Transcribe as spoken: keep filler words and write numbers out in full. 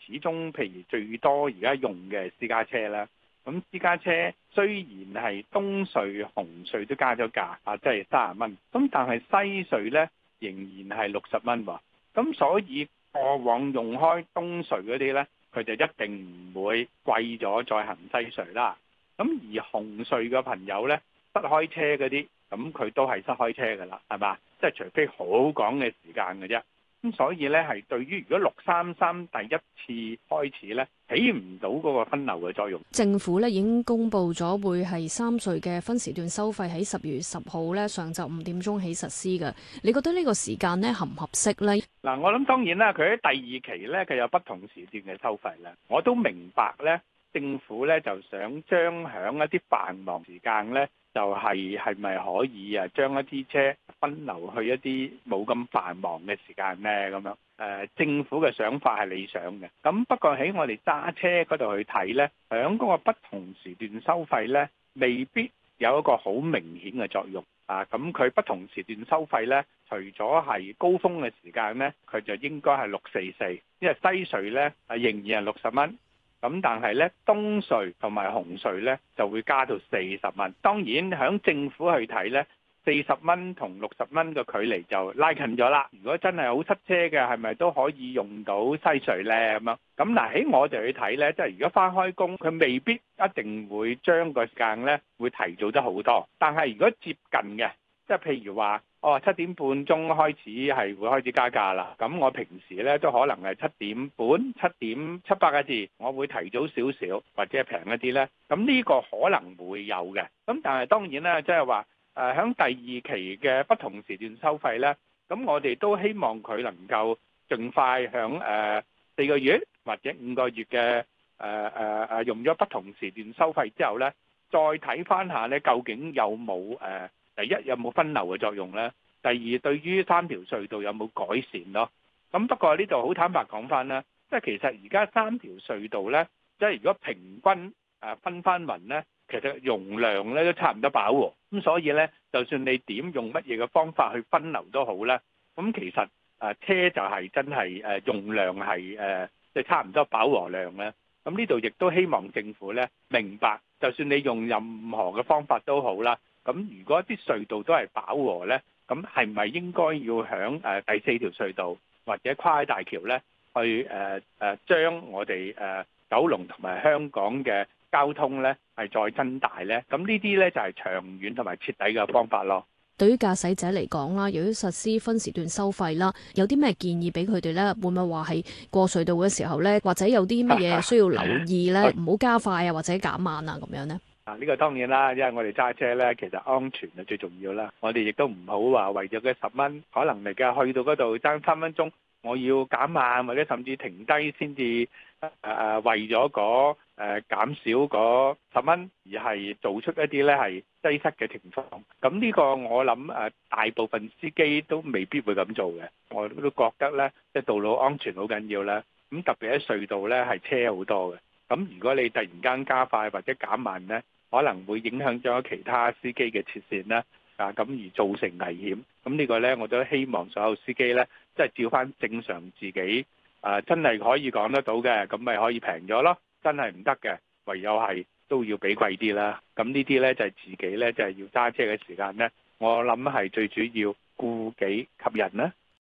始終譬如最多而家用嘅私家車啦，咁私家車雖然係東隧、紅隧都加咗價啊，即係三十蚊，咁但係西隧呢仍然係六十蚊喎。咁所以過往用開東隧嗰啲呢，佢就一定唔會貴咗再行西隧啦。咁而紅隧嘅朋友呢，塞開車嗰啲，咁佢都係塞開車噶啦，係嘛？即係除非好趕嘅時間嘅啫。咁所以呢，係對於如果六三三第一次開始呢，起唔到嗰個分流嘅作用。 政府呢已經公布咗會係三隧嘅分時段收費喺十月十號呢上晝五點鐘起實施嘅。你覺得呢個時間呢合唔合適呢？ 嗱，我諗當然啦，佢喺第二期呢，佢有不同時段嘅收費啦。我都明白呢，政府呢就想將響一啲繁忙時間呢，就係係咪可以啊將一啲車分流去一啲冇咁繁忙嘅時間呢？咁樣誒、呃，政府嘅想法係理想嘅。咁不過喺我哋揸車嗰度去睇呢，響嗰個不同時段收費呢，未必有一個好明顯嘅作用啊。咁佢不同時段收費呢，除咗係高峰嘅時間呢，佢就應該係六四四，因為西隧呢係仍然係六十蚊。咁但係咧，東隧同埋紅隧咧就會加到四十蚊。當然響政府去睇咧，四十蚊同六十蚊嘅距離就拉近咗啦。如果真係好塞車嘅，係咪都可以用到西隧咧？咁樣咁嗱，喺我哋去睇咧，即係如果翻開工，佢未必一定會將個時間咧會提早得好多。但係如果接近嘅，即係譬如話，哦七點半鐘開始係會開始加價啦。咁我平時咧都可能係七點半、七點七八個字，我會提早少少或者平一啲咧。咁呢個可能會有嘅。咁但係當然啦，即係話誒響第二期嘅不同時段收費咧，咁我哋都希望佢能夠盡快響誒四個月或者五個月嘅誒誒誒用咗不同時段收費之後咧，再睇翻下咧究竟有冇誒。呃第一有冇分流嘅作用呢？第二對於三條隧道有冇改善咯？咁不過呢度好坦白講翻啦，即係其實而家三條隧道呢，即係如果平均誒分翻勻呢，其實容量咧都差唔多飽和。咁所以呢，就算你點用乜嘢嘅方法去分流都好啦。咁其實誒車就係真係誒用量係誒即係差唔多飽和量咧。咁呢度亦都希望政府呢明白，就算你用任何嘅方法都好啦。咁如果啲隧道都係飽和呢，咁係咪應該要響誒第四條隧道或者跨海大橋呢，去誒誒將我哋誒九龍同埋香港嘅交通呢係再增大呢？咁呢啲呢就係長遠同埋徹底嘅方法咯。 對於駕駛者嚟講啦，由於實施分時段收費啦，有啲咩建議俾佢哋呢？會唔會話係過隧道嘅時候呢，或者有啲乜嘢需要留意呢？唔好加快啊，或者減慢啊，咁樣呢？ 啊！呢個當然啦，因為我哋揸車咧，其實安全係最重要啦。我哋亦都唔好話為咗嗰十蚊，可能嚟嘅去到嗰度爭三分鐘，我要減慢或者甚至停低先至誒誒，為咗嗰誒減少嗰十蚊，而係做出一啲咧係擠塞嘅情況。咁呢個我諗誒，大部分司機都未必會咁做嘅。我都覺得咧，即係道路安全好緊要啦。咁特別喺隧道咧，係車好多嘅。咁如果你突然間加快或者減慢咧，可能會影響咗其他司機嘅切線啦，啊咁而造成危險。咁呢個呢，我都希望所有司機呢，即係照翻正常自己，啊真係可以講得到嘅，咁咪可以平咗咯。真係唔得嘅，唯有係都要俾貴啲啦。咁呢啲呢，就係自己呢，就係要揸車嘅時間呢，我諗係最主要顧己及人啦。